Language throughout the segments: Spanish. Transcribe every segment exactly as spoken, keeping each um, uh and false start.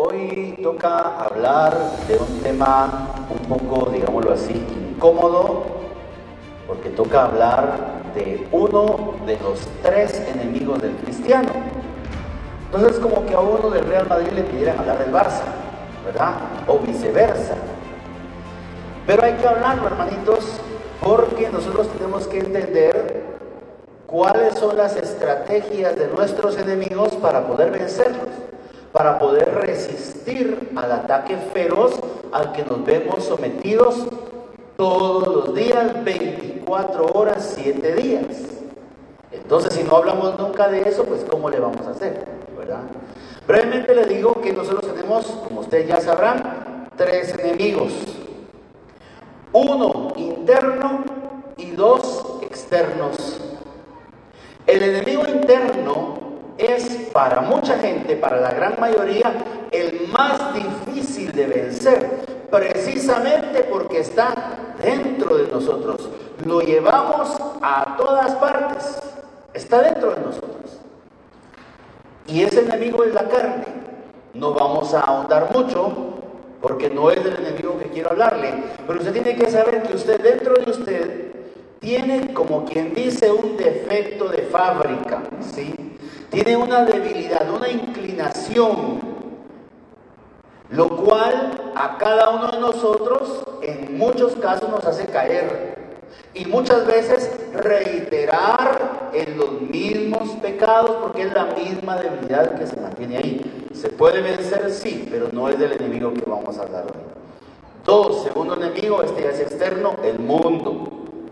Hoy toca hablar de un tema un poco, digámoslo así, incómodo, porque toca hablar de uno de los tres enemigos del cristiano. Entonces, como que a uno del Real Madrid le pidieran hablar del Barça, ¿verdad? O viceversa. Pero hay que hablarlo, hermanitos, porque nosotros tenemos que entender cuáles son las estrategias de nuestros enemigos para poder vencerlos, para poder resistir al ataque feroz al que nos vemos sometidos todos los días, veinticuatro horas, siete días. Entonces, si no hablamos nunca de eso, pues ¿cómo le vamos a hacer? ¿Verdad? Brevemente le digo que nosotros tenemos, como ustedes ya sabrán, tres enemigos. Uno interno y dos externos. El enemigo interno es para mucha gente, para la gran mayoría, el más difícil de vencer, precisamente porque está dentro de nosotros. Lo llevamos a todas partes, está dentro de nosotros. Y ese enemigo es la carne. No vamos a ahondar mucho, porque no es del enemigo que quiero hablarle, pero usted tiene que saber que usted, dentro de usted, tiene, como quien dice, un defecto de fábrica, ¿sí? Tiene una debilidad, una inclinación, lo cual a cada uno de nosotros en muchos casos nos hace caer y muchas veces reiterar en los mismos pecados, porque es la misma debilidad que se mantiene ahí. ¿Se puede vencer? Sí, pero no es del enemigo que vamos a hablar hoy. Dos, segundo enemigo, este ya es externo, el mundo.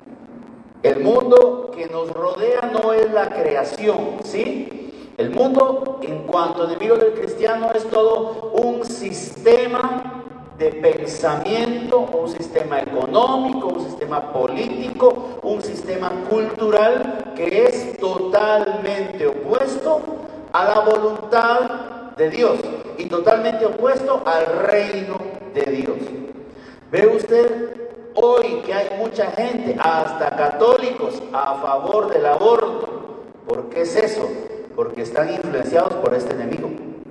El mundo que nos rodea no es la creación, ¿sí? El mundo, en cuanto a enemigo del cristiano, es todo un sistema de pensamiento, un sistema económico, un sistema político, un sistema cultural que es totalmente opuesto a la voluntad de Dios y totalmente opuesto al reino de Dios. ¿Ve usted hoy que hay mucha gente, hasta católicos, a favor del aborto? ¿Por qué es eso? Porque están influenciados por este enemigo,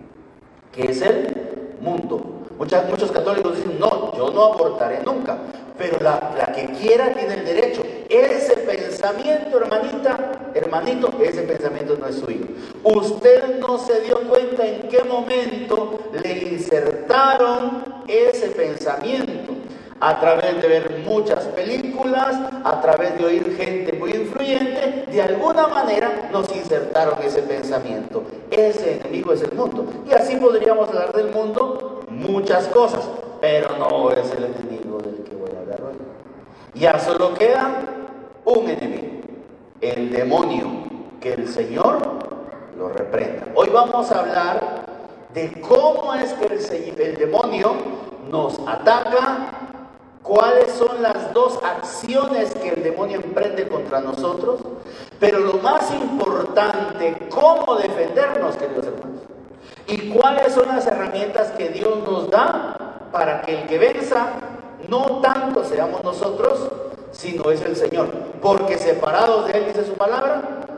que es el mundo. Muchas, muchos católicos dicen, no, yo no abortaré nunca, pero la, la que quiera tiene el derecho. Ese pensamiento, hermanita, hermanito, ese pensamiento no es suyo. Usted no se dio cuenta en qué momento le insertaron ese pensamiento. A través de ver muchas películas, a través de oír gente muy influyente, de alguna manera nos insertaron ese pensamiento. Ese enemigo es el mundo. Y así podríamos hablar del mundo muchas cosas, pero no es el enemigo del que voy a hablar hoy. Ya solo queda un enemigo, el demonio, que el Señor lo reprenda. Hoy vamos a hablar de cómo es que el, el demonio nos ataca. ¿Cuáles son las dos acciones que el demonio emprende contra nosotros? Pero lo más importante, ¿cómo defendernos, queridos hermanos? ¿Y cuáles son las herramientas que Dios nos da para que el que venza no tanto seamos nosotros, sino es el Señor? Porque separados de Él, dice su palabra,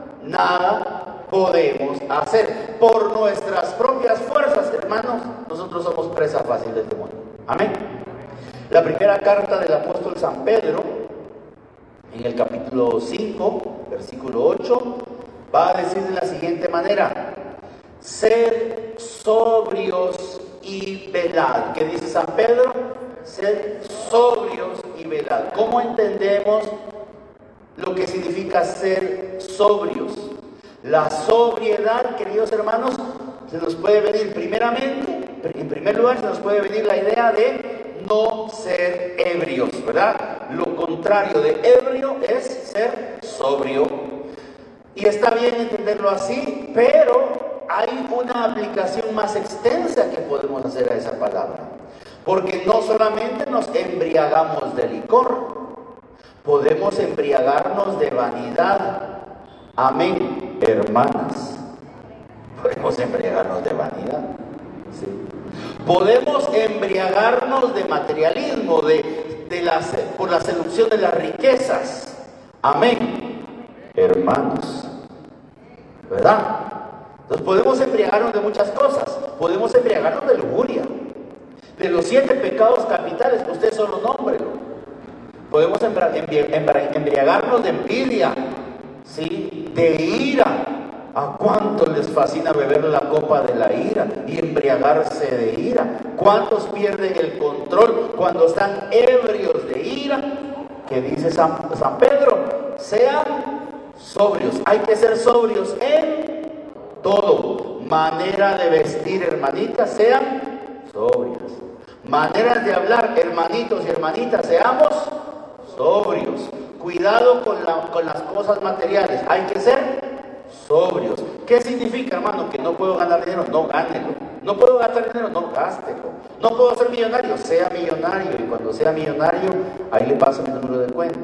nada podemos hacer. Por nuestras propias fuerzas, hermanos, nosotros somos presa fácil del demonio. Amén. La primera carta del apóstol San Pedro, en el capítulo cinco, versículo ocho, va a decir de la siguiente manera: sed sobrios y velad. ¿Qué dice San Pedro? Sed sobrios y velad. ¿Cómo entendemos lo que significa ser sobrios? La sobriedad, queridos hermanos, se nos puede venir primeramente, en primer lugar, se nos puede venir la idea de no ser ebrios, ¿verdad? Lo contrario de ebrio es ser sobrio. Y está bien entenderlo así, pero hay una aplicación más extensa que podemos hacer a esa palabra. Porque no solamente nos embriagamos de licor, podemos embriagarnos de vanidad. Amén, hermanas. Podemos embriagarnos de vanidad. Sí. Podemos embriagarnos de materialismo, de, de la, por la seducción de las riquezas. Amén, hermanos. ¿Verdad? Entonces podemos embriagarnos de muchas cosas. Podemos embriagarnos de lujuria. De los siete pecados capitales, usted solo nómbrelo. Podemos embriagarnos de envidia, ¿sí? De ira. ¿A cuántos les fascina beber la copa de la ira y embriagarse de ira? ¿Cuántos pierden el control cuando están ebrios de ira? Que dice San, San Pedro, sean sobrios. Hay que ser sobrios en todo. Manera de vestir, hermanitas, sean sobrias. Maneras de hablar, hermanitos y hermanitas, seamos sobrios. Cuidado con, la, con las cosas materiales. Hay que ser sobrios. ¿Qué significa, hermano? Que no puedo ganar dinero, no gánelo. No puedo gastar dinero, no gástelo. No puedo ser millonario, sea millonario. Y cuando sea millonario, ahí le paso mi número de cuenta.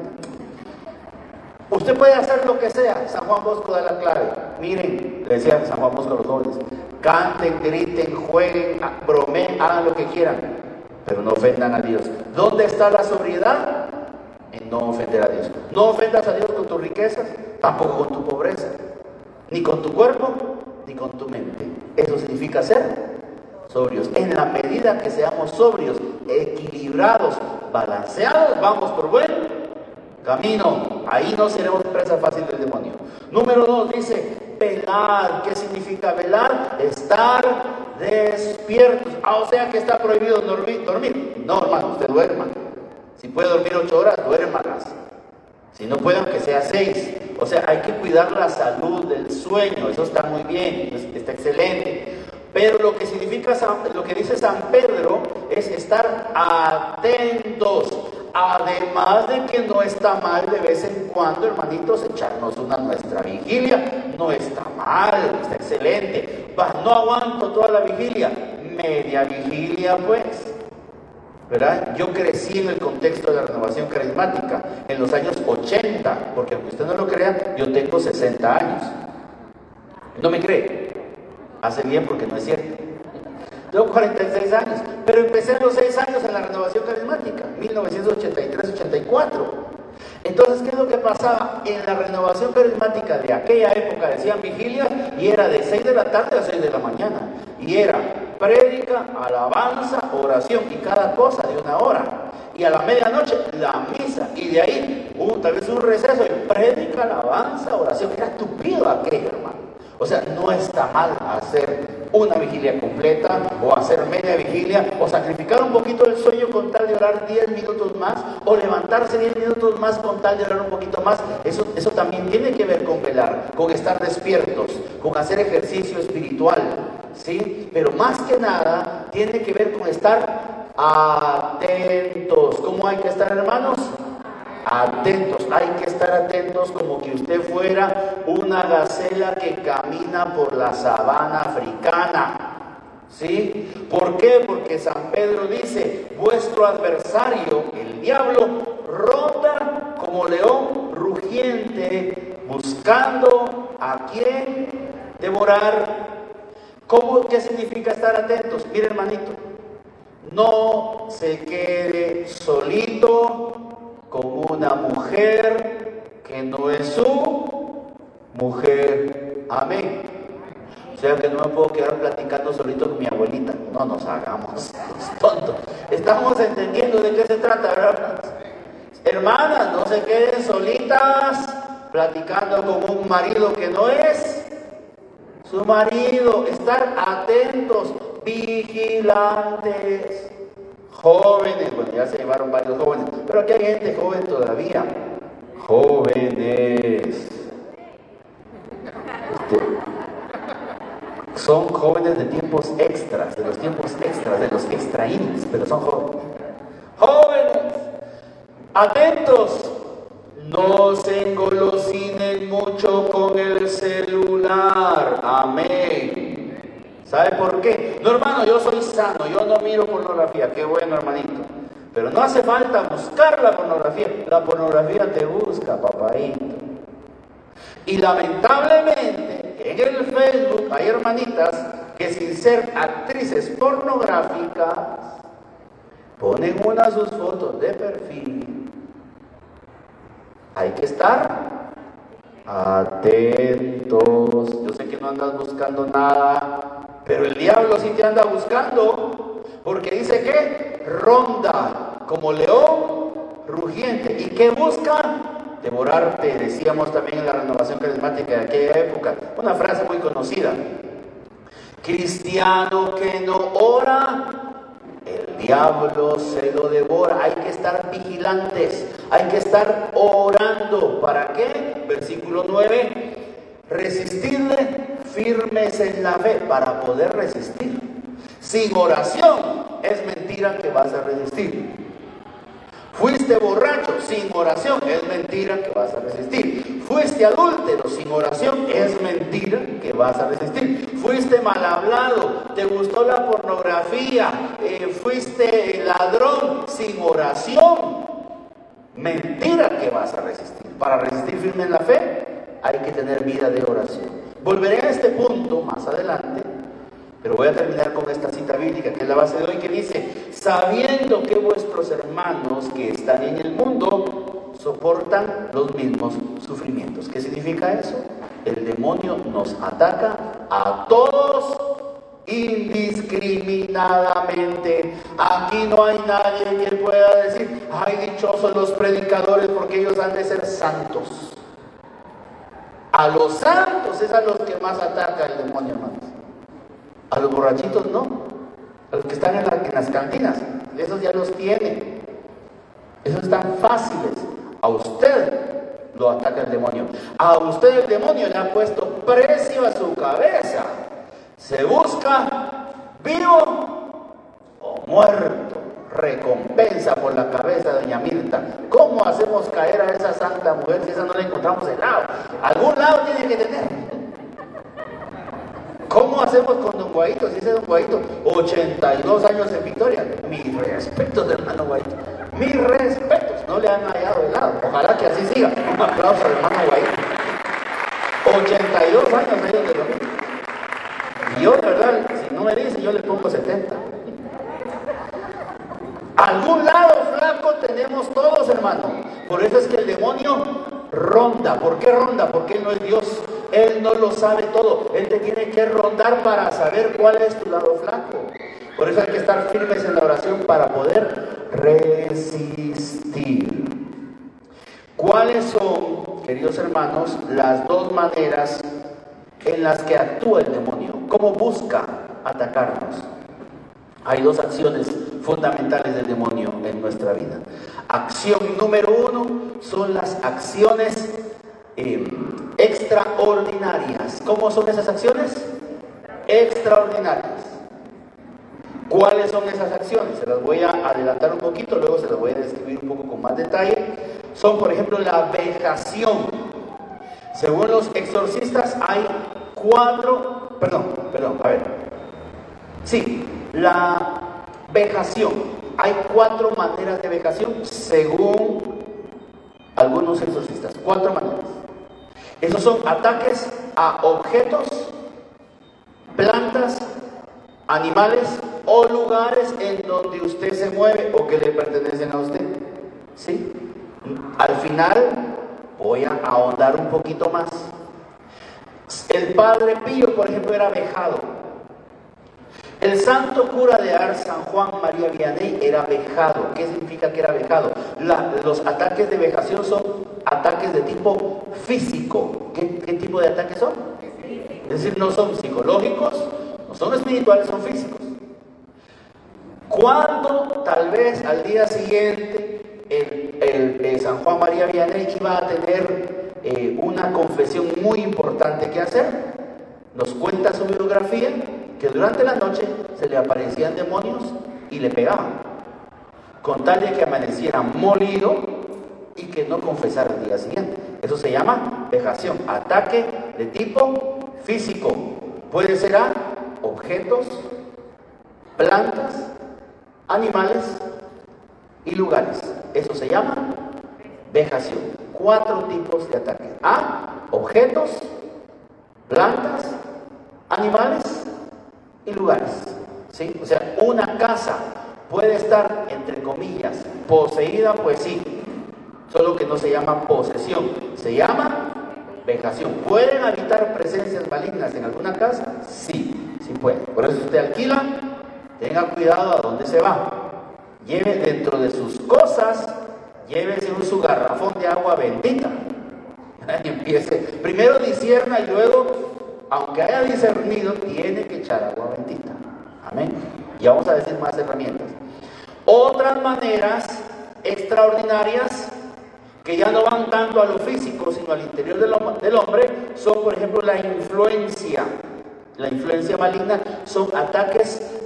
Usted puede hacer lo que sea. San Juan Bosco da la clave. Miren, le decía San Juan Bosco a los jóvenes: canten, griten, jueguen, bromeen, hagan lo que quieran, pero no ofendan a Dios. ¿Dónde está la sobriedad? En no ofender a Dios. No ofendas a Dios con tus riquezas, tampoco con tu pobreza, ni con tu cuerpo, ni con tu mente. Eso significa ser sobrios. En la medida que seamos sobrios, equilibrados, balanceados, vamos por buen camino. Ahí no seremos presa fácil del demonio. Número dos dice velar. ¿Qué significa velar? Estar despiertos. Ah, o sea que está prohibido dormir. dormir. No, hermano, usted duerma. Si puede dormir ocho horas, duérmalas. Si no puede, aunque sea seis. O sea, hay que cuidar la salud del sueño. Eso está muy bien, está excelente. Pero lo que significa, lo que dice San Pedro es estar atentos. Además de que no está mal de vez en cuando, hermanitos, echarnos una nuestra vigilia. No está mal, está excelente. Va, no aguanto toda la vigilia. Media vigilia, pues. ¿Verdad? Yo crecí en el contexto de la renovación carismática en los años ochenta, porque aunque usted no lo crea, yo tengo sesenta años. ¿No me cree? Hace bien, porque no es cierto. Tengo cuarenta y seis años, pero empecé a los seis años en la renovación carismática, mil novecientos ochenta y tres ochenta y cuatro. Entonces, ¿qué es lo que pasaba? En la renovación carismática de aquella época decían vigilia y era de seis de la tarde a seis de la mañana. Y era prédica, alabanza, oración y cada cosa de una hora. Y a la medianoche la misa. Y de ahí un, tal vez un receso y prédica, alabanza, oración. Era estúpido aquello, hermano. O sea, no está mal hacer una vigilia completa o hacer media vigilia o sacrificar un poquito el sueño con tal de orar diez minutos más o levantarse diez minutos más con tal de orar un poquito más. Eso, eso también tiene que ver con velar, con estar despiertos, con hacer ejercicio espiritual, ¿sí? Pero más que nada tiene que ver con estar atentos. ¿Cómo hay que estar, hermanos? Atentos, hay que estar atentos como que usted fuera una gacela que camina por la sabana africana. ¿Sí? ¿Por qué? Porque San Pedro dice, vuestro adversario, el diablo, ronda como león rugiente, buscando a quien devorar. ¿Cómo? ¿Qué significa estar atentos? Mire, hermanito, no se quede solito con una mujer que no es su mujer. Amén. O sea que no me puedo quedar platicando solito con mi abuelita. No nos hagamos tontos. Estamos entendiendo de qué se trata, ¿verdad? Hermanas, no se queden solitas platicando con un marido que no es su marido. Estar atentos, vigilantes. Jóvenes, bueno, ya se llevaron varios jóvenes, pero aquí hay gente joven todavía. Jóvenes. Este, son jóvenes de tiempos extras, de los tiempos extras, de los extraídos, pero son jóvenes. Jóvenes, atentos. No se engolosinen mucho con el celular. Amén. ¿Sabe por qué? No, hermano, yo soy sano, yo no miro pornografía. Qué bueno, hermanito. Pero no hace falta buscar la pornografía. La pornografía te busca, papadito. Y lamentablemente, en el Facebook hay hermanitas que sin ser actrices pornográficas ponen una de sus fotos de perfil. Hay que estar Atentos. Yo sé que no andas buscando nada, pero el diablo sí te anda buscando, porque dice que ronda como león rugiente. ¿Y qué busca? Devorarte. Decíamos también en la renovación carismática de aquella época, una frase muy conocida: cristiano que no ora, el diablo se lo devora. Hay que estar vigilantes, hay que estar orando. ¿Para qué? Versículo nueve: resistirle firmes en la fe. Para poder resistir. Sin oración es mentira que vas a resistir. Fuiste borracho, sin oración, es mentira que vas a resistir. Fuiste adúltero, sin oración, es mentira que vas a resistir. Fuiste mal hablado, te gustó la pornografía, eh, fuiste ladrón, sin oración, mentira que vas a resistir. Para resistir firme en la fe, hay que tener vida de oración. Volveré a este punto más adelante, pero voy a terminar con esta cita bíblica, que es la base de hoy, que dice: sabiendo que vuestros hermanos que están en el mundo soportan los mismos sufrimientos. ¿Qué significa eso? El demonio nos ataca a todos indiscriminadamente. Aquí no hay nadie que pueda decir: ay, dichosos los predicadores, porque ellos han de ser santos. A los santos es a los que más ataca el demonio, hermanos. A los borrachitos no, a los que están en, la, en las cantinas, esos ya los tienen, esos están fáciles. A usted lo ataca el demonio, a usted el demonio le ha puesto precio a su cabeza. Se busca vivo o muerto, recompensa por la cabeza de doña Mirta. ¿Cómo hacemos caer a esa santa mujer si esa no la encontramos en lado? Algún lado tiene que tener. ¿Cómo hacemos con don Guaito? Si ese don Guaito, ochenta y dos años en Victoria. Mis respetos, hermano Guaito. Mis respetos. No le han hallado de lado. Ojalá que así siga. Un aplauso al hermano Guaito. ochenta y dos años ahí donde lo mismo. Y yo, de verdad, si no me dice, yo le pongo setenta. Algún lado flaco tenemos todos, hermano. Por eso es que el demonio ronda. ¿Por qué ronda? Porque Él no es Dios. Él no lo sabe todo. Él te tiene que rondar para saber cuál es tu lado flaco. Por eso hay que estar firmes en la oración para poder resistir. ¿Cuáles son, queridos hermanos, las dos maneras en las que actúa el demonio? ¿Cómo busca atacarnos? Hay dos acciones fundamentales del demonio en nuestra vida. Acción número uno son las acciones eh, extraordinarias. ¿Cómo son esas acciones? Extraordinarias. ¿Cuáles son esas acciones? Se las voy a adelantar un poquito, luego se las voy a describir un poco con más detalle. Son, por ejemplo, la vejación. Según los exorcistas hay cuatro, perdón, perdón, a ver. Sí, la vejación. Hay cuatro maneras de vejación según algunos exorcistas. Cuatro maneras. Esos son ataques a objetos, plantas, animales o lugares en donde usted se mueve o que le pertenecen a usted. ¿Sí? Al final voy a ahondar un poquito más. El Padre Pío, por ejemplo, era vejado. El santo cura de Ars, San Juan María Vianney, era vejado. ¿Qué significa que era vejado? La, los ataques de vejación son ataques de tipo físico. ¿Qué, qué tipo de ataques son? Es decir, no son psicológicos, no son espirituales, son físicos. Cuando tal vez al día siguiente el, el, el San Juan María Vianney iba a tener eh, una confesión muy importante que hacer, nos cuenta su biografía que durante la noche se le aparecían demonios y le pegaban, con tal de que amaneciera molido y que no confesara el día siguiente. Eso se llama vejación, ataque de tipo físico. Puede ser a objetos, plantas, animales y lugares. Eso se llama vejación. Cuatro tipos de ataques: a objetos, plantas, animales y lugares. ¿Sí? O sea, una casa puede estar, entre comillas, poseída, pues sí, solo que no se llama posesión, se llama vejación. ¿Pueden habitar presencias malignas en alguna casa? Sí, sí pueden. Por eso usted alquila, tenga cuidado a dónde se va. Lleve dentro de sus cosas, llévese un su garrafón de agua bendita. Y empiece, primero discierna y luego, aunque haya discernido, tiene que echar agua bendita. Amén. Y vamos a decir más herramientas. Otras maneras extraordinarias que ya no van tanto a lo físico, sino al interior del, del hombre, son, por ejemplo, la influencia. La influencia maligna son ataques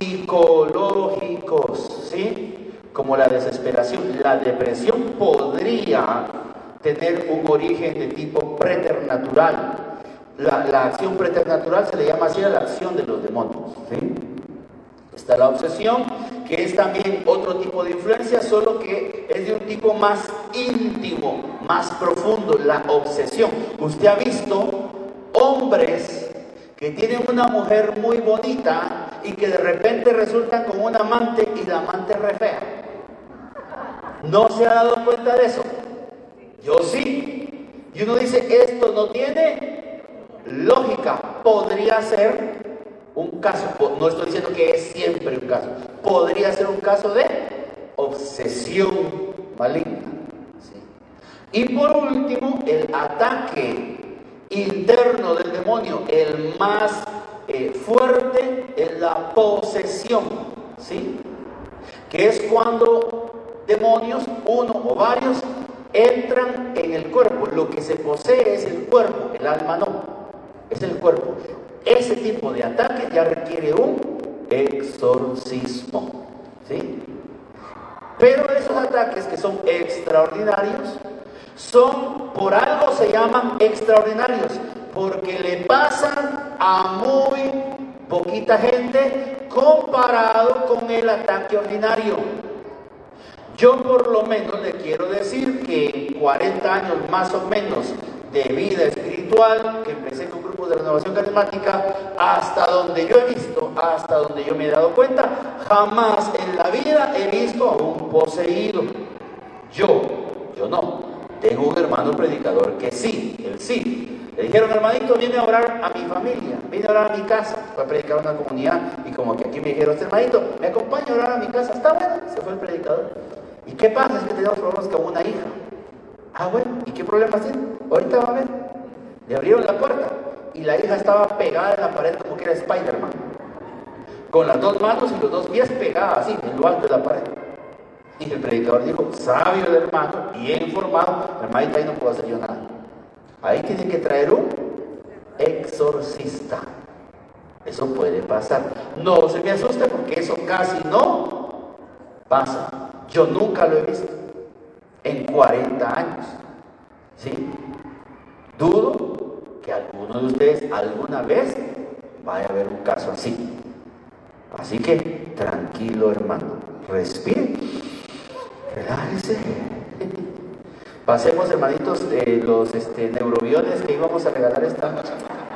psicológicos, ¿sí? Como la desesperación. La depresión podría tener un origen de tipo preternatural. La, la acción preternatural se le llama así a la acción de los demonios, ¿sí? Está la obsesión, que es también otro tipo de influencia, solo que es de un tipo más íntimo, más profundo, la obsesión. Usted ha visto hombres que tienen una mujer muy bonita y que de repente resultan con un amante y la amante es re fea. ¿No se ha dado cuenta de eso? Yo sí. Y uno dice, esto no tiene lógica. Podría ser un caso, no estoy diciendo que es siempre un caso, podría ser un caso de obsesión maligna, ¿sí? Y por último, el ataque interno del demonio, el más eh, fuerte, es la posesión, ¿sí? Que es cuando demonios, uno o varios, entran en el cuerpo. Lo que se posee es el cuerpo, el alma no, es el cuerpo. Ese tipo de ataque ya requiere un exorcismo, ¿sí? Pero esos ataques que son extraordinarios, son, por algo se llaman extraordinarios, porque le pasan a muy poquita gente comparado con el ataque ordinario. Yo por lo menos le quiero decir que en cuarenta años más o menos de vida espiritual, que empecé con grupos de renovación carismática, hasta donde yo he visto, hasta donde yo me he dado cuenta, jamás en la vida he visto a un poseído. Yo, yo no. Tengo un hermano predicador que sí, él sí. Le dijeron, hermanito, viene a orar a mi familia, viene a orar a mi casa. Fue a predicar a una comunidad y como que aquí me dijeron, este hermanito, me acompaña a orar a mi casa. Está bueno, se fue el predicador. ¿Y qué pasa? Es que tenemos problemas con una hija. Ah, bueno, ¿y qué problemas tiene? Ahorita va a ver. Le abrieron la puerta y la hija estaba pegada en la pared como que era Spider-Man, con las dos manos y los dos pies pegadas así en lo alto de la pared. Y el predicador dijo, sabio el hermano, bien formado, hermanita, ahí no puedo hacer yo nada. Ahí tiene que traer un exorcista. Eso puede pasar. No se me asuste porque eso casi no pasa. Yo nunca lo he visto en cuarenta años, ¿sí? Dudo que alguno de ustedes alguna vez vaya a ver un caso así. Así que tranquilo, hermano, respire, relájese. Pasemos, hermanitos, de los este, neurobiones que íbamos a regalar esta noche.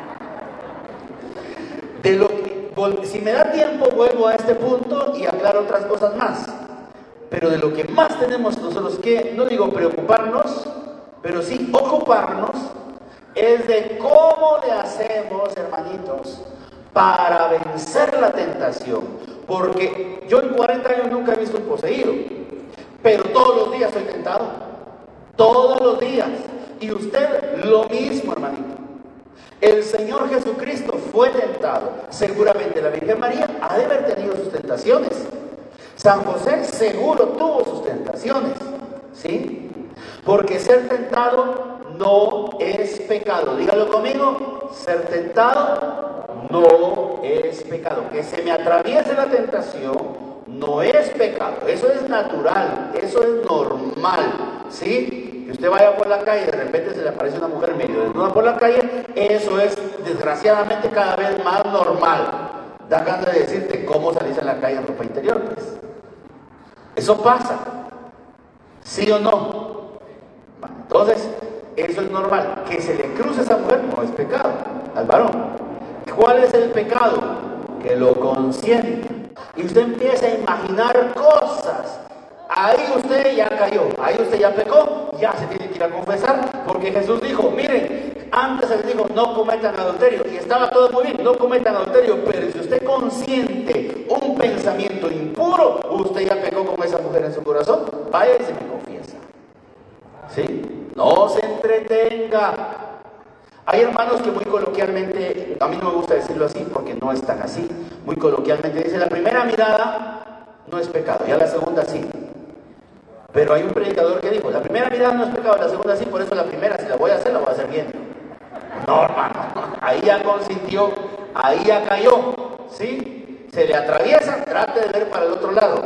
De lo que, si me da tiempo, vuelvo a este punto y aclaro otras cosas más. Pero de lo que más tenemos nosotros que, no digo preocuparnos, pero sí ocuparnos, es de cómo le hacemos, hermanitos, para vencer la tentación. Porque yo en cuarenta años nunca he visto un poseído, pero todos los días estoy tentado. Todos los días. Y usted lo mismo, hermanito. El Señor Jesucristo fue tentado. Seguramente la Virgen María ha de haber tenido sus tentaciones. San José seguro tuvo sus tentaciones, ¿sí? Porque ser tentado no es pecado. Dígalo conmigo, ser tentado no es pecado. Que se me atraviese la tentación no es pecado. Eso es natural, eso es normal, ¿sí? Que usted vaya por la calle y de repente se le aparece una mujer medio desnuda por la calle, eso es desgraciadamente cada vez más normal. Da ganas de decirte cómo salís en la calle en ropa interior, pues. Eso pasa, ¿sí o no? Bueno, entonces, eso es normal. Que se le cruce a esa mujer no es pecado al varón. ¿Cuál es el pecado? Que lo consiente. Y usted empieza a imaginar cosas. Ahí usted ya cayó, ahí usted ya pecó, ya se tiene que ir a confesar, Porque Jesús dijo, miren, antes les dijo, no cometan adulterio, y estaba todo muy bien, no cometan adulterio, pero si usted consiente un pensamiento impuro, usted ya pecó con esa mujer en su corazón, vaya y se me confiesa. ¿Sí? No se entretenga. Hay hermanos que muy coloquialmente, a mí no me gusta decirlo así porque no es tan así, muy coloquialmente dice, la primera mirada no es pecado, ya la segunda sí. Pero hay un predicador que dijo, la primera mirada no es pecado, la segunda sí, por eso la primera, si la voy a hacer, la voy a hacer bien. No, hermano, ahí ya consintió, ahí ya cayó, ¿sí? Se le atraviesa, trate de ver para el otro lado.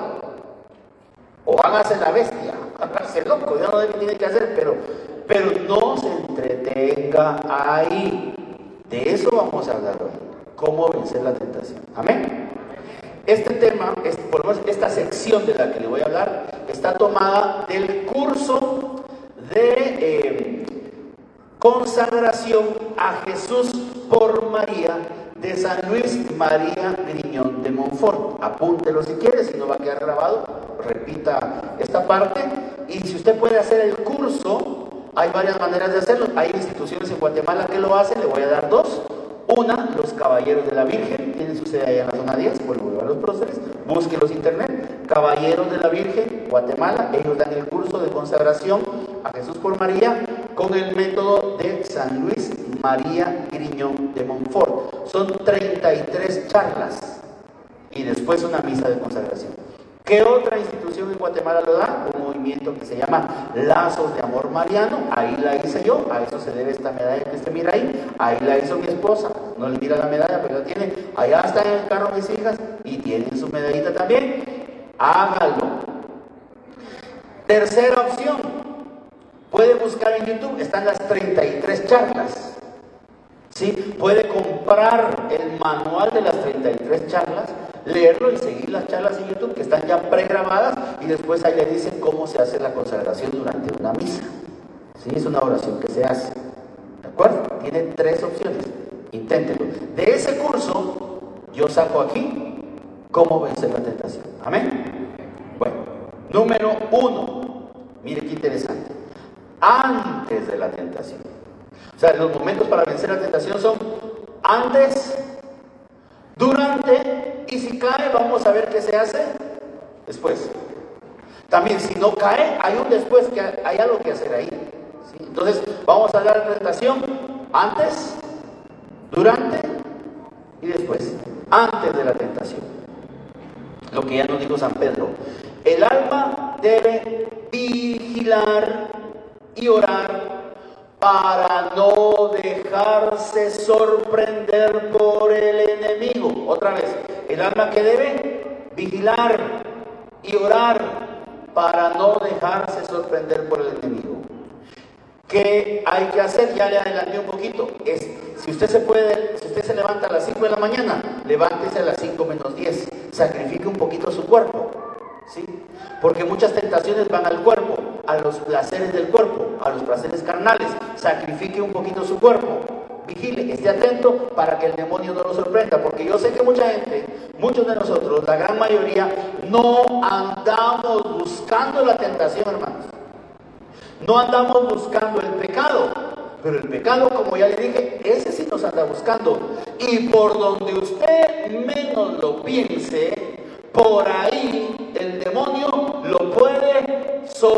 O hágase la bestia, hágase loco, ya no sé qué tiene que hacer, pero, pero no se entretenga ahí. De eso vamos a hablar hoy, cómo vencer la tentación. Amén. Este tema, es, por lo menos esta sección de la que le voy a hablar, está tomada del curso de eh, consagración a Jesús por María de San Luis María Griñón de Montfort. Apúntelo si quiere, si no va a quedar grabado, repita esta parte. Y si usted puede hacer el curso, hay varias maneras de hacerlo. Hay instituciones en Guatemala que lo hacen, le voy a dar dos. Una, los Caballeros de la Virgen, tienen su sede allá en la zona diez, vuelvo a los próceres, búsquenlos en internet, Caballeros de la Virgen, Guatemala, ellos dan el curso de consagración a Jesús por María con el método de San Luis María Griñón de Montfort. Son treinta y tres charlas y después una misa de consagración. ¿Qué otra institución en Guatemala lo da? Un movimiento que se llama Lazos de Amor Mariano. Ahí la hice yo, a eso se debe esta medalla que se mira ahí. Ahí la hizo mi esposa, no le mira la medalla, pero la tiene. Allá está en el carro mis hijas y tienen su medallita también. Hágalo. Tercera opción, puede buscar en YouTube, están las treinta y tres charlas. ¿Sí? Puede comprar el manual de las treinta y tres charlas, leerlo y seguir las charlas en YouTube que están ya pregrabadas y después ahí le dicen cómo se hace la consagración durante una misa. ¿Sí? Es una oración que se hace. ¿De acuerdo? Tiene tres opciones. Inténtelo. De ese curso yo saco aquí cómo vencer la tentación. Amén. Bueno, número uno. Mire qué interesante. Antes de la tentación. O sea, los momentos para vencer la tentación son antes, durante, y si cae, vamos a ver qué se hace después. También, si no cae, hay un después, que hay algo que hacer ahí. ¿Sí? Entonces, vamos a hablar de la tentación antes, durante y después. Antes de la tentación. Lo que ya nos dijo San Pedro. El alma debe vigilar y orar para no dejarse sorprender por el enemigo. Otra vez, el alma que debe vigilar y orar para no dejarse sorprender por el enemigo. ¿Qué hay que hacer? Ya le adelanté un poquito. Es, si usted se puede, si usted se levanta a las cinco de la mañana, levántese a las cinco menos diez. Sacrifique un poquito su cuerpo. ¿Sí? Porque muchas tentaciones van al cuerpo, a los placeres del cuerpo, a los placeres carnales. Sacrifique un poquito su cuerpo, vigile, esté atento para que el demonio no lo sorprenda, porque yo sé que mucha gente, muchos de nosotros, la gran mayoría, no andamos buscando la tentación, hermanos. No andamos buscando el pecado, pero el pecado, como ya le dije, ese sí nos anda buscando. Y por donde usted menos lo piense, por ahí el demonio lo puede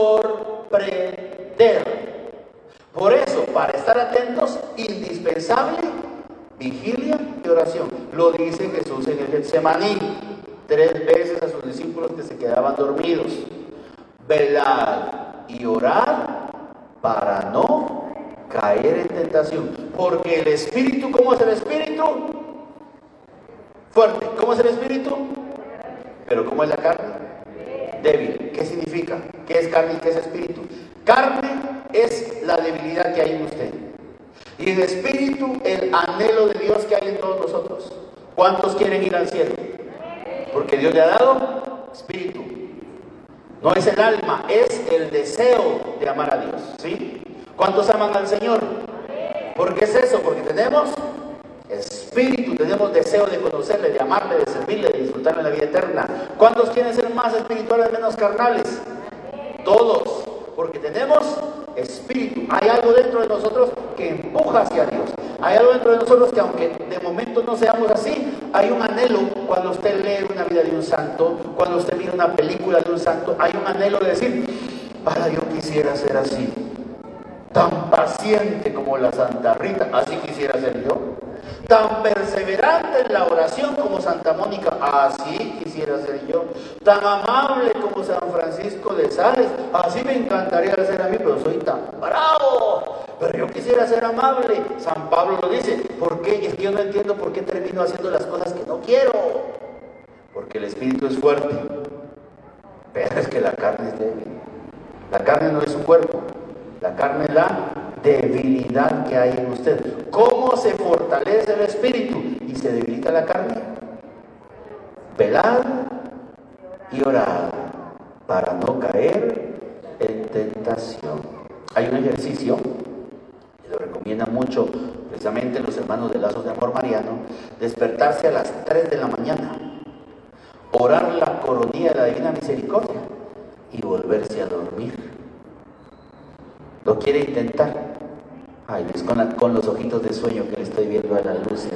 sorprender. Por eso, para estar atentos, indispensable vigilia y oración. Lo dice Jesús en el Getsemaní, tres veces a sus discípulos que se quedaban dormidos. Velad y orad para no caer en tentación. Porque el espíritu, ¿cómo es el espíritu? Fuerte. ¿Cómo es el espíritu? Pero ¿cómo es la carne? Débil. ¿Qué significa? ¿Qué es carne y qué es espíritu? Carne es la debilidad que hay en usted. Y el espíritu, el anhelo de Dios que hay en todos nosotros. ¿Cuántos quieren ir al cielo? Porque Dios le ha dado espíritu. No es el alma, es el deseo de amar a Dios. ¿Sí? ¿Cuántos aman al Señor? ¿Por qué es eso? Porque tenemos espíritu, tenemos deseo de conocerle, de amarle, de servirle, de disfrutarle la vida eterna. ¿Cuántos quieren ser más espirituales, menos carnales? Todos, porque tenemos espíritu. Hay algo dentro de nosotros que empuja hacia Dios. Hay algo dentro de nosotros que, aunque de momento no seamos así, hay un anhelo. Cuando usted lee una vida de un santo, cuando usted mira una película de un santo, hay un anhelo de decir: para, yo quisiera ser así, tan paciente como la Santa Rita, así quisiera ser yo. Tan perseverante en la oración como Santa Mónica, así quisiera ser yo. Tan amable como San Francisco de Sales, así me encantaría ser a mí, pero soy tan bravo. Pero yo quisiera ser amable. San Pablo lo dice. ¿Por qué? Es que yo no entiendo por qué termino haciendo las cosas que no quiero. Porque el espíritu es fuerte, pero es que la carne es débil. La carne no es su cuerpo. La carne es la debilidad que hay en usted. ¿Cómo se fortalece el espíritu y se debilita la carne? Velad y orad para no caer en tentación. Hay un ejercicio que lo recomiendan mucho precisamente los hermanos de Lazos de Amor Mariano: despertarse a las tres de la mañana, orar la coronilla de la Divina Misericordia y volverse a dormir. ¿Lo quiere intentar? Ay, es con, la, con los ojitos de sueño que le estoy viendo a la luz.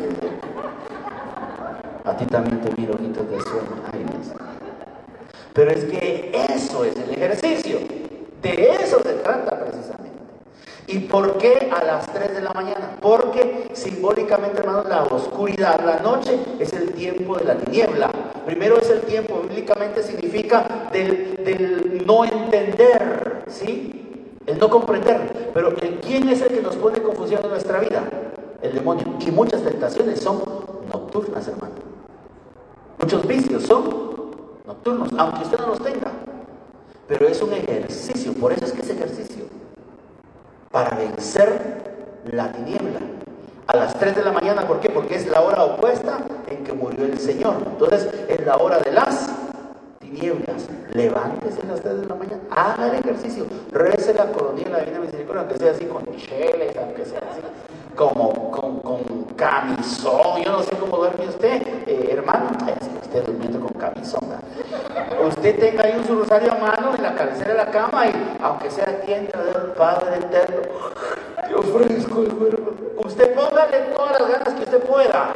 A ti también te miro ojitos de sueño. Ay, Dios. Pero es que eso es el ejercicio. De eso se trata precisamente. ¿Y por qué a las tres de la mañana? Porque simbólicamente, hermanos, la oscuridad, la noche, es el tiempo de la tiniebla. Primero es el tiempo, bíblicamente significa del, del no entender, ¿sí? El no comprender. Pero ¿quién es el que nos pone confusión en nuestra vida? El demonio. Y muchas tentaciones son nocturnas, hermano. Muchos vicios son nocturnos, aunque usted no los tenga. Pero es un ejercicio. Por eso es que es ejercicio para vencer la tiniebla. A las tres de la mañana, ¿por qué? Porque es la hora opuesta en que murió el Señor. Entonces es la hora de las tinieblas. Levántese a las tres de la mañana, haga el ejercicio, rece la coronilla de la Divina Misericordia, aunque sea así con cheles, aunque sea así como con, con camisón. Yo no sé cómo duerme usted, eh, hermano. Ay, sí, usted durmiendo con camisón, ¿verdad? Usted tenga ahí un su rosario a mano en la cabecera de la cama y aunque sea tienda del Padre eterno, Dios fresco, usted póngale todas las ganas que usted pueda,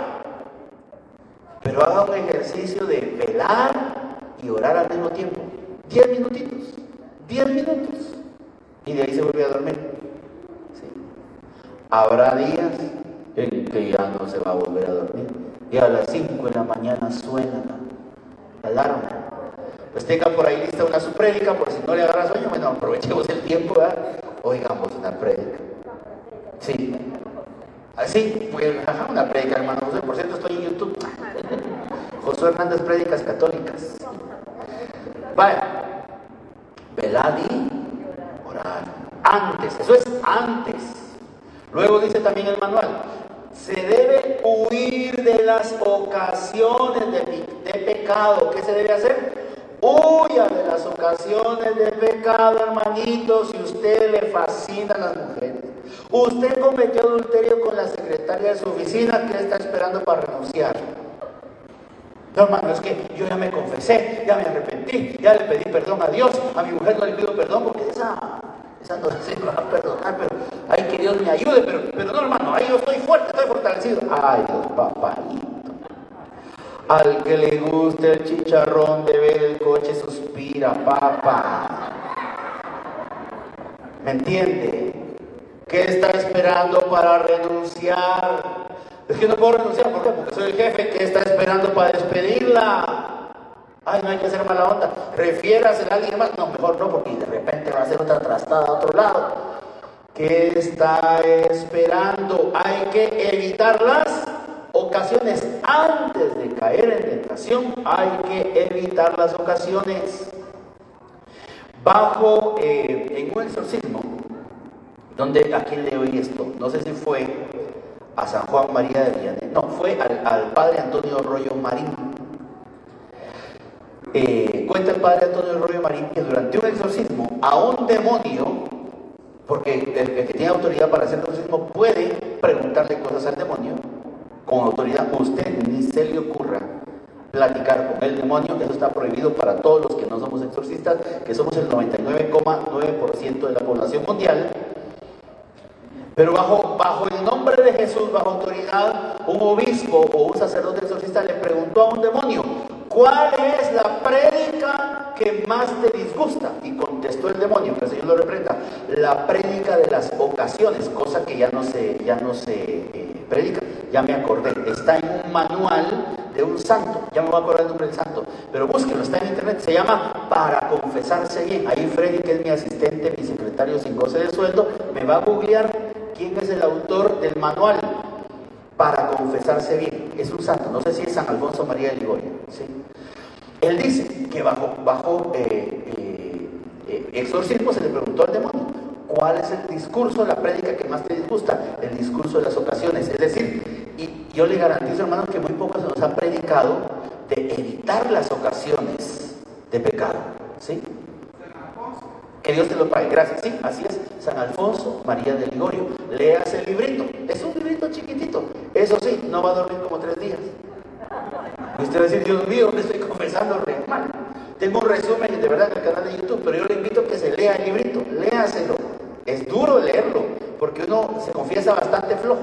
pero haga un ejercicio de velar y orar al mismo tiempo. Diez minutitos, diez minutos, y de ahí se vuelve a dormir. ¿Sí? Habrá días en que ya no se va a volver a dormir, y a las cinco de la mañana suena la alarma. Pues tenga por ahí lista una su prédica, por si no le agarra sueño. Bueno, aprovechemos el tiempo, ¿verdad? Oigamos una prédica. Sí, así, pues, ajá, una prédica, hermano José. Por cierto, estoy en YouTube. Josué Hernández, prédicas católicas. Vaya, velad y orar. Antes, eso es antes. Luego dice también el manual: se debe huir de las ocasiones de, de pecado. ¿Qué se debe hacer? Huya de las ocasiones de pecado, hermanito. Si a usted le fascinan las mujeres, usted cometió adulterio con la secretaria de su oficina, ¿qué está esperando para renunciar? No, hermano, es que yo ya me confesé, ya me arrepentí, ya le pedí perdón a Dios, a mi mujer no le pido perdón porque esa, esa no se va a perdonar, pero ay, que Dios me ayude, pero, pero no, hermano, ahí yo estoy fuerte, estoy fortalecido. Ay, Dios, papayito. Al que le guste el chicharrón de ver el coche suspira, papá. ¿Me entiende? ¿Qué está esperando para renunciar? Es que no puedo renunciar, ¿por qué? Porque soy el jefe. ¿Qué está esperando para despedirla? Ay, no hay que hacer mala onda. Refiérase a alguien más. No, mejor no, porque de repente va a hacer otra trastada a otro lado. ¿Qué está esperando? Hay que evitar las ocasiones. Antes de caer en tentación, hay que evitar las ocasiones. Bajo, eh, en un exorcismo, donde, ¿a quién le oí esto? No sé si fue a San Juan María de Vianney, no, fue al, al padre Antonio Rollo Marín. Eh, cuenta el padre Antonio Rollo Marín que durante un exorcismo a un demonio, porque el, el que tiene autoridad para hacer exorcismo puede preguntarle cosas al demonio con autoridad, usted ni se le ocurra platicar con el demonio. Eso está prohibido para todos los que no somos exorcistas, que somos el noventa y nueve coma nueve por ciento de la población mundial. Pero bajo, bajo el nombre de Jesús, bajo autoridad, un obispo o un sacerdote exorcista le preguntó a un demonio: ¿cuál es la prédica que más te disgusta? Y contestó el demonio, que el Señor lo reprenda: la prédica de las ocasiones, cosa que ya no se, ya no se eh, predica. Ya me acordé, está en un manual de un santo, ya me voy a acordar el nombre del santo, pero búsquenlo, está en internet, se llama Para Confesarse Bien. Ahí Freddy, que es mi asistente, mi secretario sin goce de sueldo, me va a googlear quién es el autor del manual Para Confesarse Bien. Es un santo, no sé si es San Alfonso María de Ligorio, ¿sí? Él dice que bajo, bajo eh, eh, eh, exorcismo se le preguntó al demonio: ¿cuál es el discurso, la prédica que más te disgusta? El discurso de las ocasiones. Es decir, y yo le garantizo, hermanos, que muy poco se nos ha predicado de evitar las ocasiones de pecado, ¿sí? Que Dios te lo pague, gracias, sí, así es. San Alfonso María de Ligorio. Leas el librito, es un librito chiquitito. Eso sí, no va a dormir como tres días. Usted va a decir: Dios mío, me estoy confesando re mal. Tengo un resumen de verdad en el canal de YouTube, pero yo le invito a que se lea el librito, léaselo. Es duro leerlo, porque uno se confiesa bastante flojo.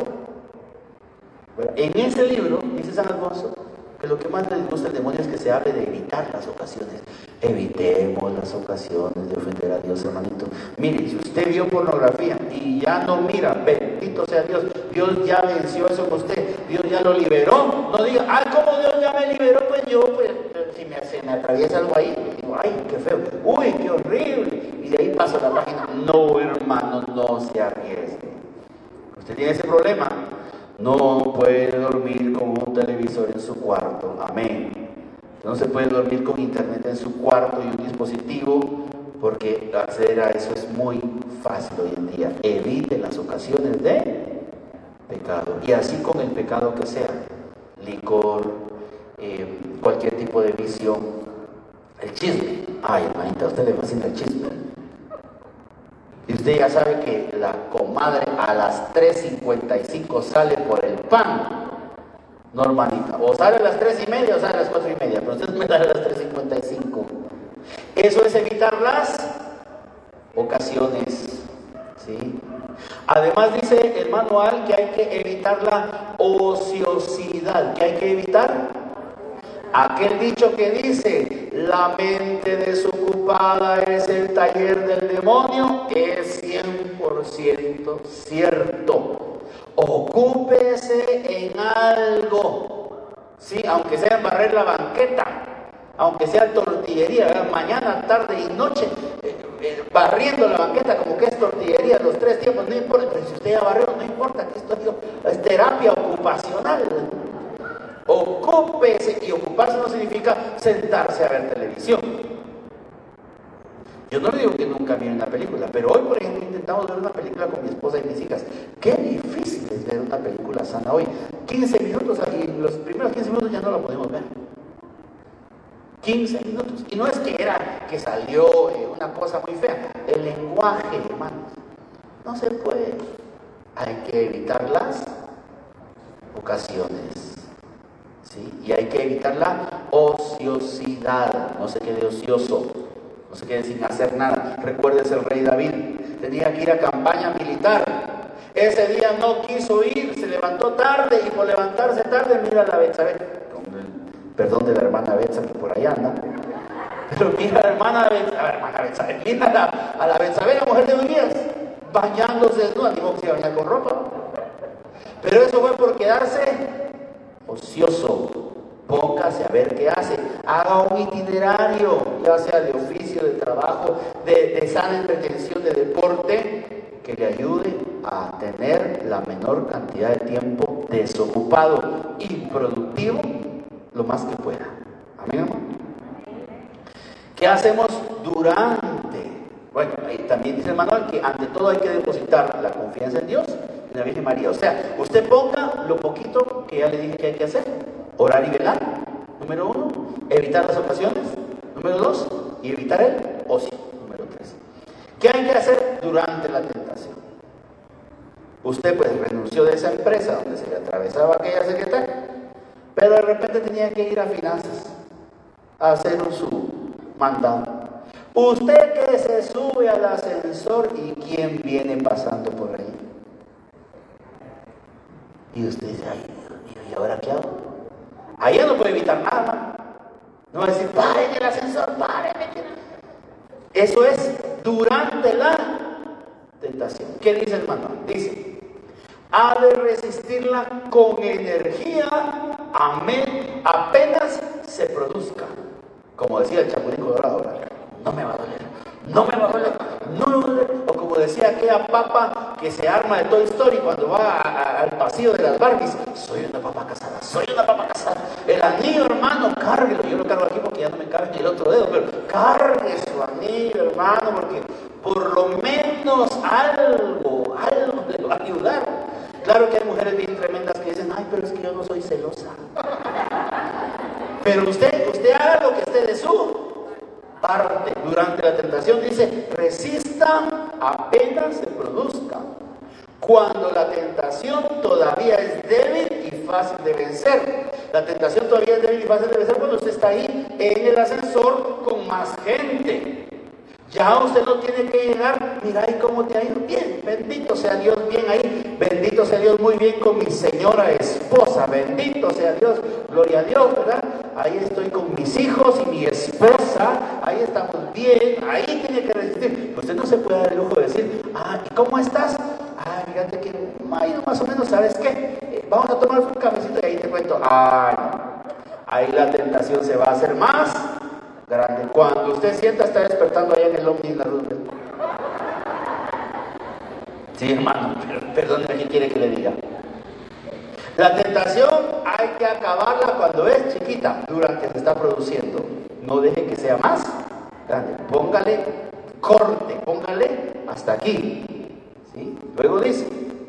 Bueno, en ese libro, dice San Alfonso, que lo que más le gusta al demonio es que se hable de evitar las ocasiones. Evitemos las ocasiones de ofender a Dios, hermanito. Mire, si usted vio pornografía y ya no mira, bendito sea Dios, Dios ya venció eso con usted, Dios ya lo liberó. No diga: ay, ¿cómo Dios ya me liberó? Pues yo, pues, si me, se me atraviesa algo ahí, digo: ay, qué feo, uy, qué horrible, y de ahí paso a la página. No, hermano, no se arriesgue. Usted tiene ese problema. No puede dormir con un televisor en su cuarto. Amén. No se puede dormir con internet en su cuarto y un dispositivo, porque acceder a eso es muy fácil hoy en día. Evite las ocasiones de pecado. Y así con el pecado que sea: licor, eh, cualquier tipo de vicio, el chisme. Ay, hermanita, a usted le fascina el chisme. Y usted ya sabe que la comadre a las tres cincuenta y cinco sale por el pan. No, hermanita, o sale a las tres y media o sale a las cuatro y media, pero usted me sale a las tres cincuenta y cinco. Eso es evitar las ocasiones, ¿sí? Además dice el manual que hay que evitar la ociosidad. ¿Qué hay que evitar? Aquel dicho que dice: la mente desocupada es el taller del demonio, es cien por ciento cierto. Ocúpese en algo, sí, aunque sea en barrer la banqueta, aunque sea tortillería, ¿verdad? Mañana, tarde y noche, eh, eh, barriendo la banqueta como que es tortillería, los tres tiempos, no importa. Pero si usted ya barrió, no importa, que esto es terapia ocupacional. Ocúpese, y ocuparse no significa sentarse a ver televisión. Yo no le digo que nunca mire una película, pero hoy, por ejemplo, intentamos ver una película con mi esposa y mis hijas. Qué difícil es ver una película sana hoy. quince minutos, y en los primeros quince minutos ya no la podemos ver. quince minutos. Y no es que era que salió eh, una cosa muy fea. El lenguaje, hermanos, no se puede. Hay que evitar las ocasiones, ¿sí? Y hay que evitar la ociosidad. No se quede ocioso, no se quede sin hacer nada. Recuérdese el rey David, tenía que ir a campaña militar. Ese día no quiso ir, se levantó tarde, y por levantarse tarde mira a la Betsabé, perdón de la hermana Betsa que por ahí anda, pero mira a la hermana Betsa, a la hermana Betsabé, mira a la, a la Betsabé, la mujer de Urias, bañándose desnuda. Digo que se iba a bañar con ropa, pero eso fue por quedarse ocioso. Póngase a ver qué hace, haga un itinerario, ya sea de oficio, de trabajo, de, de sana entretención, de deporte, que le ayude a tener la menor cantidad de tiempo desocupado, improductivo, lo más que pueda. Amén, amor. ¿Qué hacemos durante? Bueno, ahí también dice el manual que ante todo hay que depositar la confianza en Dios y en la Virgen María. O sea, usted ponga lo poquito que ya le dije que hay que hacer. Orar y velar, número uno. Evitar las ocasiones, número dos. Y evitar el ocio, número tres. ¿Qué hay que hacer durante la tentación? Usted pues renunció de esa empresa donde se le atravesaba aquella secretaria. pero de repente tenía que ir a finanzas a hacer su mandado. Usted que se sube al ascensor y quién viene pasando por ahí. Y usted dice, ay, ¿y ahora qué hago? Ahí ya no puede evitar nada. No va a decir, paren el ascensor, paren. Eso es durante la tentación. ¿Qué dice el manual? Dice, ha de resistirla con energía, amén, apenas se produzca. Como decía el Chapulín Colorado, ¿verdad? No me va a doler, no me va a doler, no me va a doler. O como decía aquella papa que se arma de Toy Story cuando va a, a, al pasillo de las Barbies, soy una papa casada, soy una papa casada. El anillo, hermano, cárguelo. Yo lo cargo aquí porque ya no me cabe ni el otro dedo, pero cargue su anillo, hermano, porque por lo menos algo, algo le va a ayudar. Claro que hay mujeres bien tremendas que dicen, ay, pero es que yo no soy celosa. Pero usted, usted haga lo que esté de su parte durante la tentación. Dice, resista apenas se produzca. Cuando la tentación todavía es débil y fácil de vencer. La tentación todavía es débil y fácil de vencer cuando usted está ahí en el ascensor con más gente. Ya usted no tiene que llegar, mira ahí cómo te ha ido bien, bendito sea Dios, bien ahí, bendito sea Dios, muy bien con mi señora esposa, bendito sea Dios, gloria a Dios, ¿verdad? Ahí estoy con mis hijos y mi esposa, ahí estamos bien, ahí tiene que resistir. Usted no se puede dar el lujo de decir, ah, ¿y cómo estás? Ah, fíjate que ahí más o menos, ¿sabes qué? Eh, vamos a tomar un cafecito y ahí te cuento. Ah, no. Ahí la tentación se va a hacer más grande. Cuando usted sienta está despertando allá en el Omni en la Roosevelt. Sí, hermano, perdóneme, ¿qué quiere que le diga? La tentación hay que acabarla cuando es chiquita, durante se está produciendo. No deje que sea más grande. Póngale corte, póngale hasta aquí. ¿Sí? Luego dice,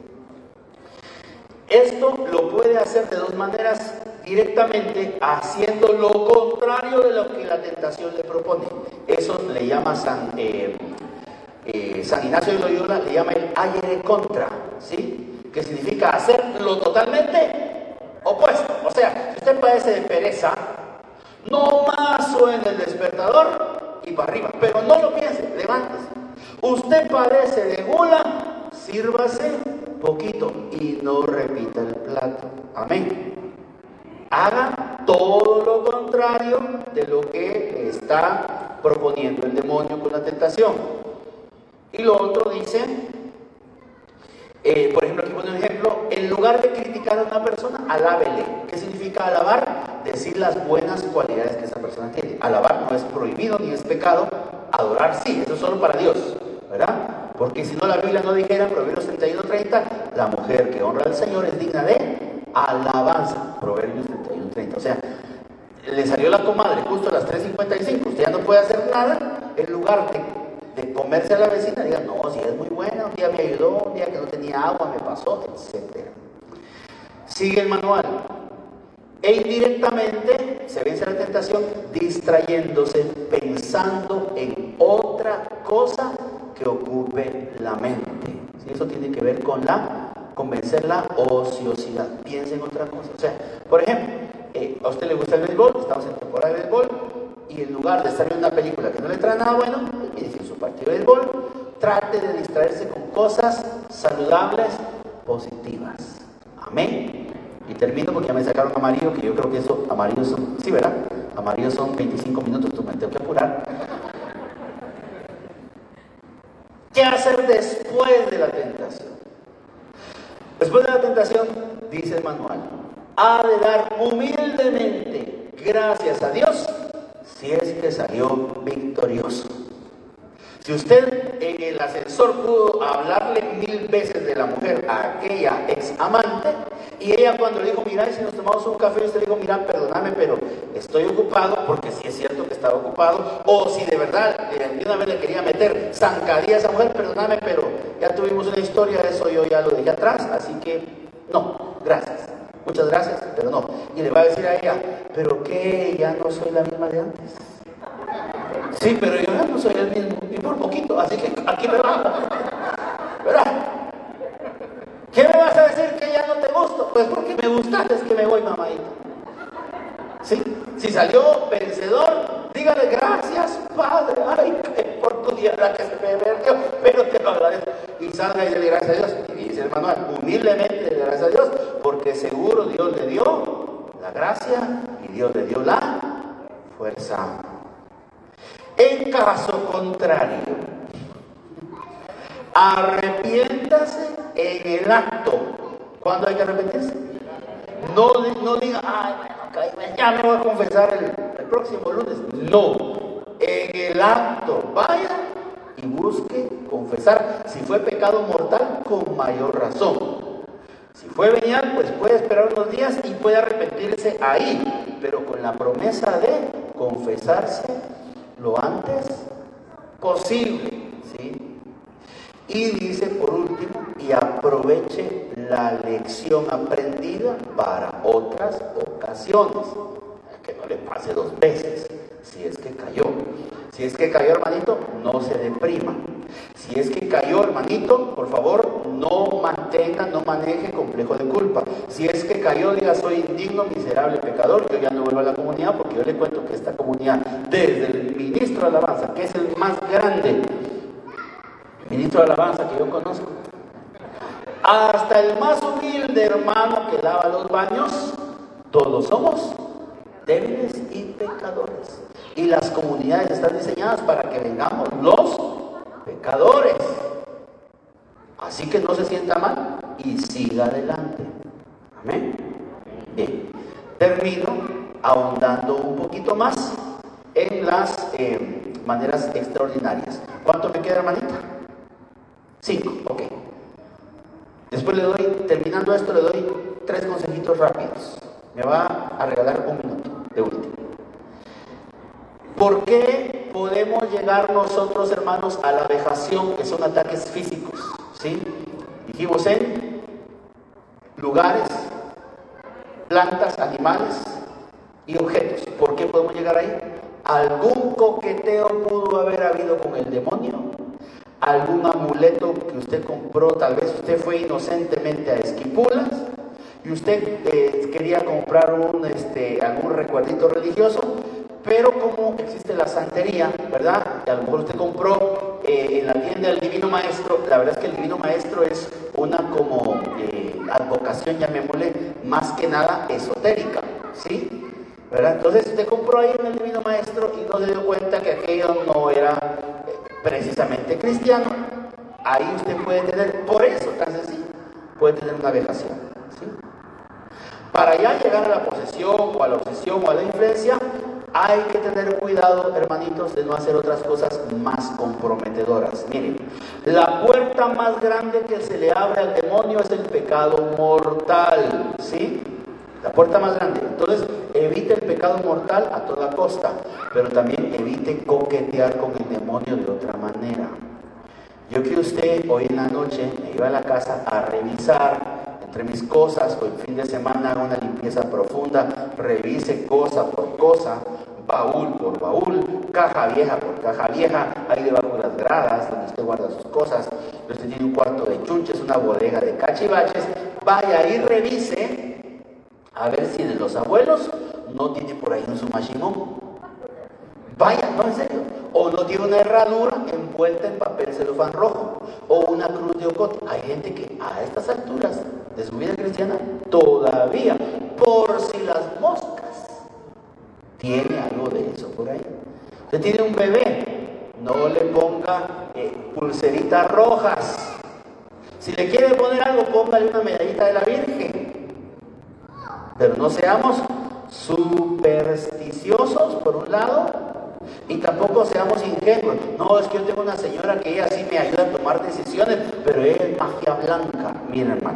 esto lo puede hacer de dos maneras, directamente haciendo lo contrario de lo que la tentación le propone. Eso le llama San, eh, eh, San Ignacio de Loyola, le llama el aire contra, ¿sí? Que significa hacer lo totalmente opuesto. O sea, si usted padece de pereza, no más suene el despertador y para arriba, pero no lo piense, levántese. Usted padece de gula, sírvase poquito y no repita el plato. Amén. Haga todo lo contrario de lo que está proponiendo el demonio con la tentación. Y lo otro dice, eh, por ejemplo, aquí pone un ejemplo, en lugar de criticar a una persona, alábele. ¿Qué significa alabar? Decir las buenas cualidades que esa persona tiene. Alabar no es prohibido ni es pecado, adorar sí, eso es solo para Dios, ¿verdad? Porque si no la Biblia no dijera, Proverbios treinta y uno treinta, la mujer que honra al Señor es digna de alabanza. Proverbios treinta y uno treinta. O sea, le salió la comadre justo a las tres cincuenta y cinco, usted ya no puede hacer nada, en lugar de, de comerse a la vecina, diga, no, si es muy buena, un día me ayudó, un día que no tenía agua, me pasó, etcétera. Sigue el manual. E indirectamente se vence la tentación distrayéndose, pensando en otra cosa que ocupe la mente. ¿Sí? Eso tiene que ver con la con vencer la ociosidad. Piensa en otra cosa. O sea, por ejemplo, eh, a usted le gusta el béisbol, estamos en temporada de béisbol, y en lugar de estar viendo una película que no le trae nada bueno, inicie su partido de béisbol, trate de distraerse con cosas saludables, positivas. Amén. Y termino porque ya me sacaron amarillo, que yo creo que eso, amarillos son, sí, ¿verdad? Amarillos son veinticinco minutos, entonces me tengo que apurar. ¿Qué hacer después de la tentación? Después de la tentación, dice el manual, ha de dar humildemente gracias a Dios si es que salió victorioso. Si usted en el ascensor pudo hablarle mil veces de la mujer a aquella ex amante, y ella cuando le dijo, mira, si nos tomamos un café, usted le dijo, mira, perdóname, pero estoy ocupado, porque sí es cierto que estaba ocupado, o si de verdad de una vez le quería meter zancadilla a esa mujer, perdóname, pero ya tuvimos una historia, eso yo ya lo dejé atrás, así que no, gracias, muchas gracias, pero no. Y le va a decir a ella, pero que ya no soy la misma de antes. Sí, pero yo ya no soy el mismo, y por poquito, así que aquí me va, ¿verdad? ¿Qué me vas a decir que ya no te gusto? Pues porque me gustaste, es que me voy, mamadita. salió vencedor, dígale gracias, Padre. Ay, qué oportunidad la que se me perdió, pero te lo agradezco. Y salga y dele gracias a Dios. Y dice el manual, humildemente dele gracias a Dios, porque seguro Dios le dio la gracia y Dios le dio la fuerza. En caso contrario, arrepiéntase en el acto. ¿Cuándo hay que arrepentirse? No, no diga, ay, bueno, ya me voy a confesar el, el próximo lunes. No, en el acto, vaya y busque confesar. Si fue pecado mortal, con mayor razón. Si fue venial, pues puede esperar unos días y puede arrepentirse ahí, pero con la promesa de confesarse lo antes posible, ¿sí? Y dice por último, y aproveche la lección aprendida para otras ocasiones. Que no le pase dos veces, si es que cayó. Si es que cayó, hermanito, no se deprima. Si es que cayó, hermanito, por favor, no mantenga, no maneje complejo de culpa. Si es que cayó, diga, soy indigno, miserable, pecador, yo ya no vuelvo a la comunidad, porque yo le cuento que esta comunidad, desde el ministro de alabanza, que es el más grande ministro de alabanza que yo conozco, hasta el más humilde hermano que lava los baños, todos somos débiles y pecadores. Y las comunidades están diseñadas para que vengamos los pecadores. Así que no se sienta mal y siga adelante. Amén. Bien, termino ahondando un poquito más en las eh, maneras extraordinarias. ¿Cuánto me queda, hermanita? Cinco, ok. Después le doy, terminando esto, le doy tres consejitos rápidos. Me va a regalar un minuto de último. ¿Por qué podemos llegar nosotros, hermanos, a la vejación, que son ataques físicos? ¿Sí? Dijimos en lugares, plantas, animales y objetos. ¿Por qué podemos llegar ahí? ¿Algún coqueteo pudo haber habido con el demonio? ¿Algún amuleto que usted compró? Tal vez usted fue inocentemente a Esquipulas y usted eh, quería comprar un, este, algún recuerdito religioso, pero como existe la santería, ¿verdad? Y a lo mejor usted compró eh, en la tienda del Divino Maestro. La verdad es que el Divino Maestro es una como eh, advocación, llamémosle, más que nada esotérica, ¿sí? ¿Verdad? Entonces usted compró ahí en el Divino Maestro y no se dio cuenta que aquello no era eh, precisamente cristiano. Ahí usted puede tener, por eso tan sencillo, puede tener una vejación, ¿sí? Para ya llegar a la posesión o a la obsesión o a la influencia, hay que tener cuidado, hermanitos, de no hacer otras cosas más comprometedoras. Miren, la puerta más grande que se le abre al demonio es el pecado mortal, ¿sí? La puerta más grande. Entonces, evite el pecado mortal a toda costa, pero también evite coquetear con el demonio de otra manera. Yo que usted hoy en la noche me iba a la casa a revisar entre mis cosas, o el fin de semana haga una limpieza profunda, revise cosa por cosa, baúl por baúl, caja vieja por caja vieja, ahí debajo de las gradas donde usted guarda sus cosas. Usted tiene un cuarto de chunches, una bodega de cachivaches, vaya y revise a ver si de los abuelos no tiene por ahí un sumashimón. Vaya, no, en serio. O no tiene una herradura envuelta en papel celofán rojo, o una cruz de ocote. Hay gente que a estas alturas de su vida cristiana todavía, por si las moscas, tiene algo de eso por ahí. Usted tiene un bebé, no le ponga eh, pulseritas rojas. Si le quiere poner algo, póngale una medallita de la Virgen. Pero no seamos supersticiosos por un lado, y tampoco seamos ingenuos. No, es que yo tengo una señora que ella sí me ayuda a tomar decisiones, pero ella es magia blanca. Miren, hermano,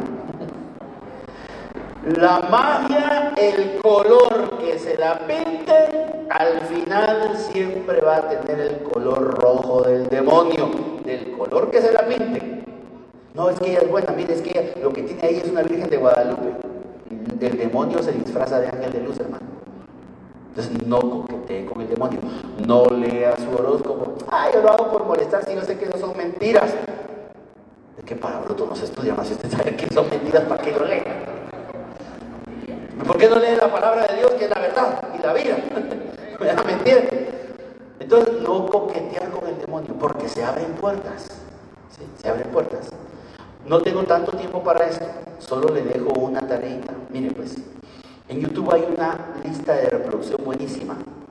la magia, el color que se la pinte, al final siempre va a tener el color rojo del demonio, del color que se la pinte. No, es que ella es buena, mire, es que ella, lo que tiene ahí es una Virgen de Guadalupe. El demonio se disfraza de ángel de luz, hermano. Entonces no coquetee con el demonio, no lea su horóscopo. Ay, yo lo hago por molestar, si yo sé que eso son mentiras. ¿De qué para bruto no se estudia más? Si usted sabe que son mentiras, ¿para qué lo lee? ¿Por qué no lee la palabra de Dios, que es la verdad y la vida? ¿Me entiendes? Entonces, no coquetear con el demonio, porque se abren puertas. ¿Sí? Se abren puertas. No tengo tanto tiempo para esto, solo le dejo una tareita. Mire pues, en YouTube hay una lista de reproducción buenísima.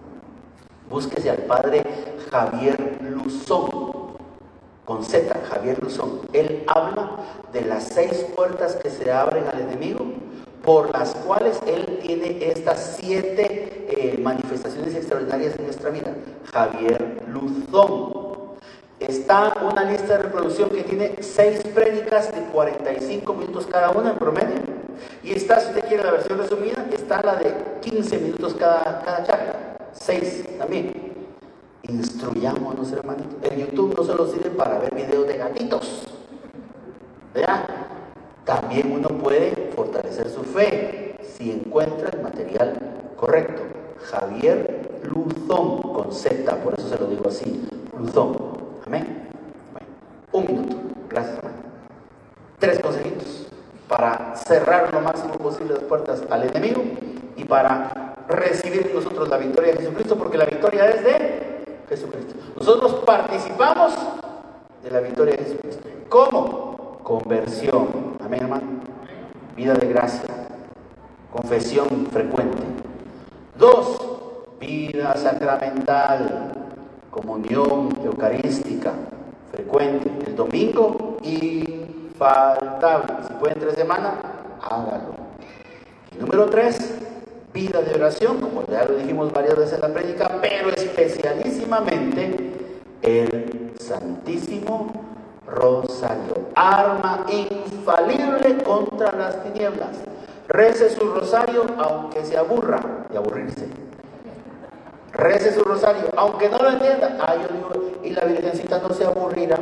Búsquese al padre Javier Luzón, con Z, Javier Luzón. Él habla de las seis puertas que se abren al enemigo, por las cuales él tiene estas siete eh, manifestaciones extraordinarias en nuestra vida. Javier Luzón. Está una lista de reproducción que tiene seis prédicas de cuarenta y cinco minutos cada una en promedio. Y está, si usted quiere la versión resumida, está la de quince minutos cada, cada charla. seis también. Instruyámonos, hermanitos. El YouTube no solo sirve para ver videos de gatitos. ¿Verdad? También uno puede fortalecer su fe si encuentra el material correcto. Javier Luzón, con Z, por eso se lo digo así. Luzón. Amén. Bueno, un minuto. Gracias, hermano. Tres consejitos para cerrar lo máximo posible las puertas al enemigo y para recibir nosotros la victoria de Jesucristo, porque la victoria es de Jesucristo. Nosotros participamos de la victoria de Jesucristo. ¿Cómo? Conversión. Amén, hermano. Vida de gracia. Confesión frecuente. Dos, vida sacramental. Comunión eucarística frecuente. El domingo infaltable. Si puede en tres semanas, hágalo. Y número tres, vida de oración, como ya lo dijimos varias veces en la prédica, pero especialísimamente el Santísimo Rosario, arma infalible contra las tinieblas. Rece su rosario aunque se aburra de aburrirse. Rece su rosario aunque no lo entienda. Ah, yo digo, y la Virgencita no se aburrirá.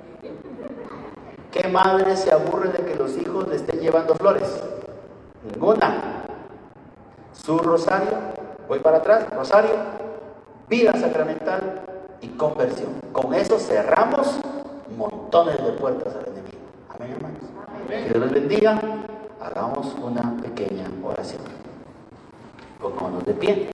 ¿Qué madre se aburre de que los hijos le estén llevando flores? Ninguna. Su rosario, voy para atrás, rosario, vida sacramental y conversión. Con eso cerramos montones de puertas al enemigo. Amén, hermanos. Amén. Que Dios les bendiga. Hagamos una pequeña oración. Pongámonos de pie.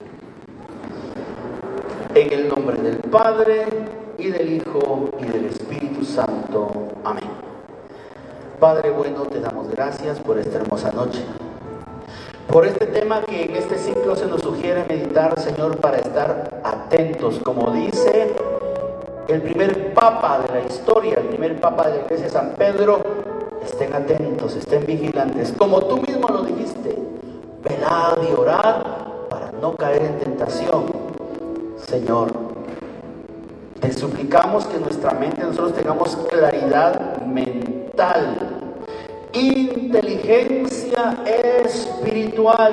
En el nombre del Padre, y del Hijo, y del Espíritu Santo. Amén. Padre bueno, te damos gracias por esta hermosa noche. Por este tema que en este ciclo se nos sugiere meditar, Señor, para estar atentos. Como dice el primer papa de la historia, el primer papa de la iglesia, San Pedro, estén atentos, estén vigilantes. Como tú mismo lo dijiste, velad y orad para no caer en tentación. Señor, te suplicamos que en nuestra mente nosotros tengamos claridad mental, inteligencia espiritual,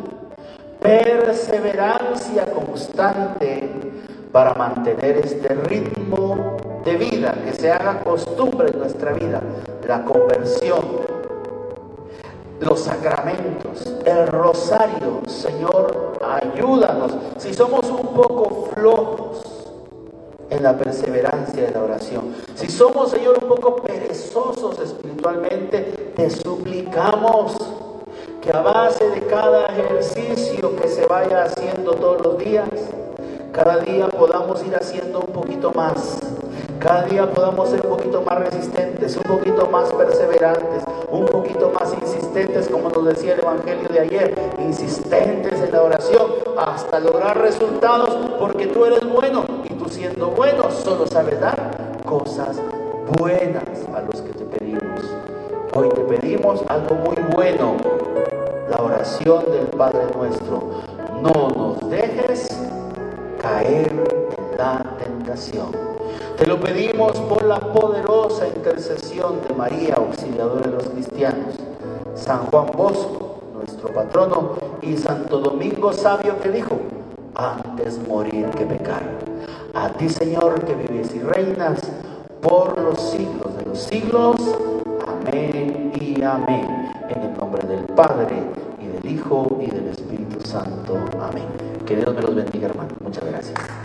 perseverancia constante para mantener este ritmo de vida, que se haga costumbre en nuestra vida, la conversión, los sacramentos, el rosario. Señor, ayúdanos. Si somos un poco flojos en la perseverancia de la oración, si somos, Señor, un poco perezosos espiritualmente, te suplicamos que a base de cada ejercicio que se vaya haciendo todos los días, cada día podamos ir haciendo un poquito más. Cada día podamos ser un poquito más resistentes, un poquito más perseverantes, un poquito más insistentes, como nos decía el Evangelio de ayer, insistentes en la oración hasta lograr resultados, porque tú eres bueno y tú, siendo bueno, solo sabes dar cosas buenas a los que te pedimos. Hoy te pedimos algo muy bueno, la oración del Padre nuestro. No nos dejes caer en la tentación. Te lo pedimos por la poderosa intercesión de María, auxiliadora de los cristianos, San Juan Bosco, nuestro patrono, y Santo Domingo Sabio, que dijo: antes morir que pecar. A ti, Señor, que vives y reinas por los siglos de los siglos. Amén y amén. En el nombre del Padre, y del Hijo, y del Espíritu Santo. Amén. Que Dios me los bendiga, hermano. Muchas gracias.